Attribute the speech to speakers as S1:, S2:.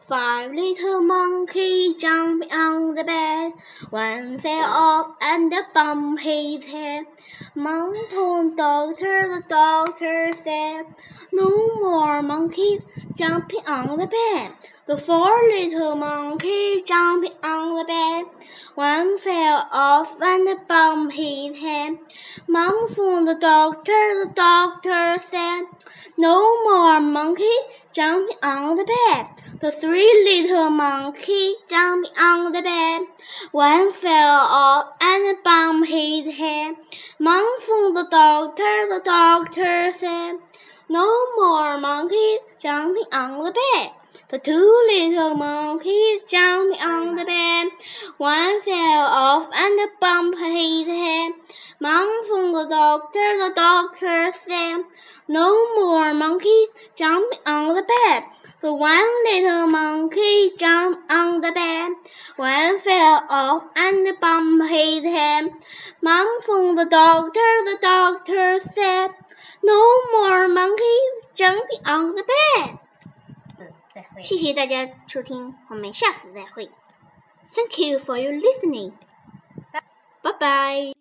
S1: 5 little monkeys jumping on the bed. One fell off and bumped his head. Mom told the doctor said, "No more monkeys jumping on the bed." The 4 little monkeys jumping on the bed. One fell off and bumped his head. Mom phoned the doctor said, "No more monkeys jumping on the bed." The 3 little monkeys jumping on the bed. One fell off and bumped his head. Mom phoned the doctor said, "No more monkeys jumping on the bed." The 2 little monkeys jumping on the bed. One fell off and bumped his head. Mom phoned the doctor said, "No more monkeys jumping on the bed." The 1 little monkey jumped on the bed. One fell off and bumped his head. Mom phoned the doctor said, "No more monkeys jumping on the bed." 谢谢大家收听，我们下次再会。Thank you for your listening. Bye bye.